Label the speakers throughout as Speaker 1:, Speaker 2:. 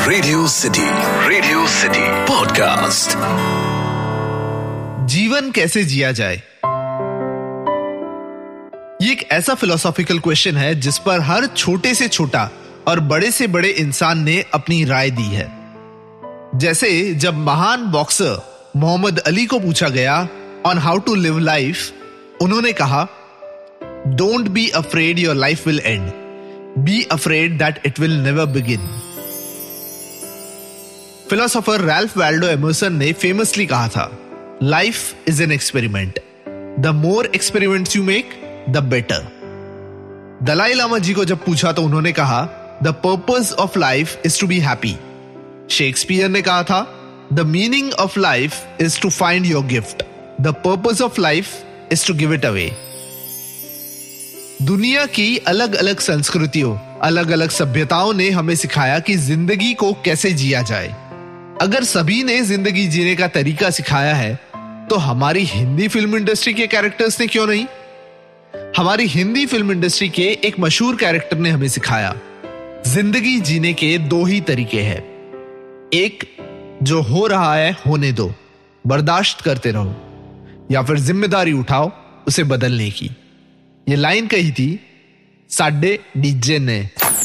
Speaker 1: Radio city podcast.
Speaker 2: जीवन कैसे जिया जाए, ये एक ऐसा फिलोसॉफिकल क्वेश्चन है जिस पर हर छोटे से छोटा और बड़े से बड़े इंसान ने अपनी राय दी है। जैसे जब महान बॉक्सर मोहम्मद अली को पूछा गया on how to live life, उन्होंने कहा, don't be afraid your life will and, be afraid that it will never begin. Philosopher Ralph Waldo Emerson ने फेमसली कहा था, life is an experiment, the more experiments you make the better. Dalai Lama जी को जब पूछा तो उन्होंने कहा, the purpose of life is to be happy. Shakespeare ने कहा था, the meaning of life is to find your gift, the purpose of life is to give it away. दुनिया की अलग अलग संस्कृतियों, अलग अलग सभ्यताओं ने हमें सिखाया कि जिंदगी को कैसे जिया जाए। अगर सभी ने जिंदगी जीने का तरीका सिखाया है तो हमारी हिंदी फिल्म इंडस्ट्री के कैरेक्टर्स ने क्यों नहीं? हमारी हिंदी फिल्म इंडस्ट्री के एक मशहूर कैरेक्टर ने हमें सिखाया, जिंदगी जीने के दो ही तरीके हैं। एक, जो हो रहा है होने दो, बर्दाश्त करते रहो, या फिर जिम्मेदारी उठाओ उसे बदलने की। ये लाइन कही थी साडे डीजे ने।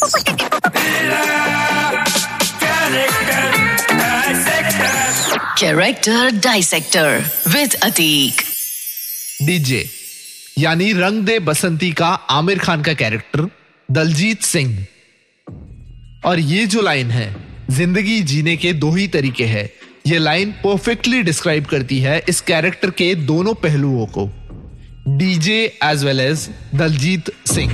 Speaker 3: Character dissector with Atiq.
Speaker 2: DJ यानी रंग दे बसंती का आमिर खान का कैरेक्टर दलजीत सिंह। और ये जो लाइन है, जिंदगी जीने के दो ही तरीके हैं, ये लाइन परफेक्टली डिस्क्राइब करती है इस कैरेक्टर के दोनों पहलुओं को, DJ as well as Daljit Singh.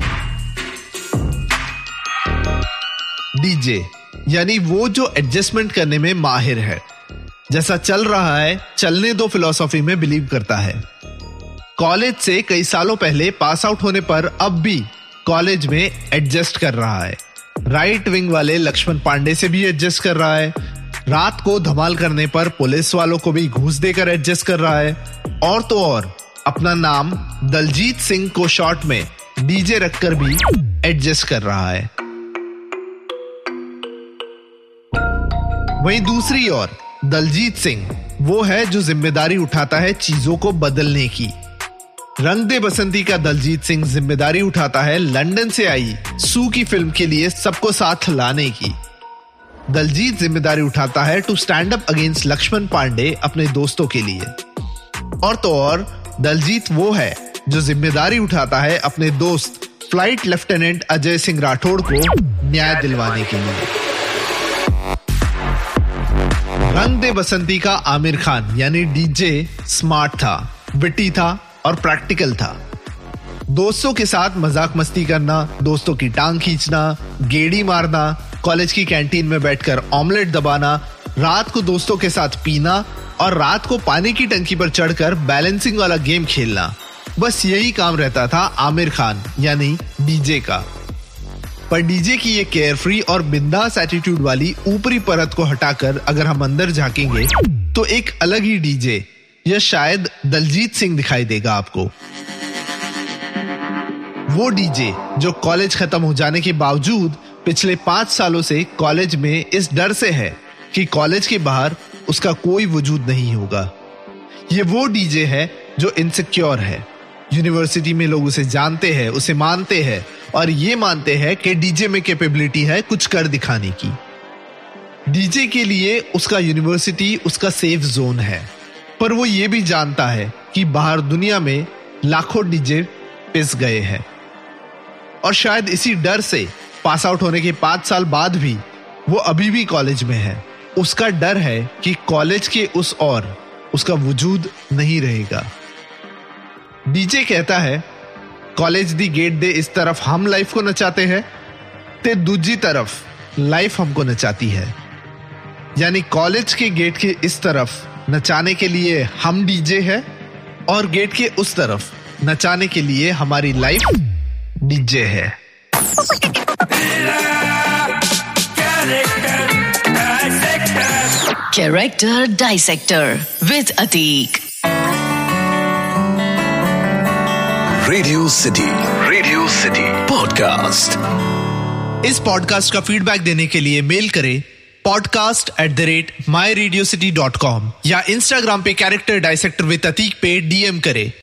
Speaker 2: DJ यानी वो जो एडजस्टमेंट करने में माहिर है, जैसा चल रहा है चलने दो फिलॉसफी में बिलीव करता है। कॉलेज से कई सालों पहले पास आउट होने पर अब भी कॉलेज में एडजस्ट कर रहा है। राइट विंग वाले लक्ष्मण पांडे से भी एडजस्ट कर रहा है। रात को धमाल करने पर पुलिस वालों को भी घूस देकर एडजस्ट कर रहा है। और तो और अपना नाम दलजीत सिंह को शॉर्ट में डीजे रखकर भी एडजस्ट कर रहा है। वहीं दूसरी ओर दलजीत सिंह वो है जो जिम्मेदारी उठाता है चीजों को बदलने की। रंग दे बसंती का दलजीत सिंह जिम्मेदारी उठाता है लंदन से आई सू की फिल्म के लिए सबको साथ लाने की। दलजीत जिम्मेदारी उठाता है to stand up against Lakshman Pandey अपने दोस्तों के लिए। और तो और दलजीत वो है जो जिम्मेदारी उठाता है अपने दोस्त फ्लाइट लेफ्टिनेंट अजय सिंह राठौड़ को न्याय दिलवाने के लिए। रंग दे बसंती का आमिर खान यानी डीजे स्मार्ट था, विटी था और प्रैक्टिकल था। दोस्तों के साथ मजाक मस्ती करना, दोस्तों की टांग खींचना, गेड़ी मारना, कॉलेज की कैंटीन में बैठकर ऑमलेट दबाना, रात को दोस्तों के साथ पीना और रात को पानी की टंकी पर चढ़कर बैलेंसिंग वाला गेम खेलना, बस यही काम रहता था आमिर खान यानी डीजे का। पर डीजे की ये केयरफ्री और बिंदास एटीट्यूड वाली ऊपरी परत को हटाकर अगर हम अंदर झांकेंगे तो एक अलग ही डीजे या शायद दलजीत सिंह दिखाई देगा आपको। वो डीजे जो कॉलेज खत्म हो जाने के बावजूद पिछले 5 सालों से कॉलेज में इस डर से है कि कॉलेज के बाहर उसका कोई वजूद नहीं होगा। ये वो डीजे है जो इनसिक्योर है। यूनिवर्सिटी में लोग उसे जानते हैं, उसे मानते हैं और ये मानते हैं कि डीजे में कैपेबिलिटी है कुछ कर दिखाने की। डीजे के लिए उसका यूनिवर्सिटी उसका सेफ जोन है, पर वो ये भी जानता है कि बाहर दुनिया में लाखों डीजे पिस गए हैं। और शायद इसी डर से पास आउट होने के 5 साल बाद भी वो अभी भी कॉलेज में है। उसका डर है कि कॉलेज के उस और उसका वजूद नहीं रहेगा। डीजे कहता है, कॉलेज दी गेट दे इस तरफ हम लाइफ को नचाते हैं ते दूजी तरफ लाइफ हमको नचाती है। यानी कॉलेज के गेट के इस तरफ नचाने के लिए हम डीजे है और गेट के उस तरफ नचाने के लिए हमारी लाइफ डीजे है।
Speaker 3: Character dissector with Atiq.
Speaker 1: Radio city podcast.
Speaker 2: इस पॉडकास्ट का फीडबैक देने के लिए मेल करें podcast@myradiocity.com या इंस्टाग्राम पे कैरेक्टर डाइसेक्टर विद अतीक पे DM करें।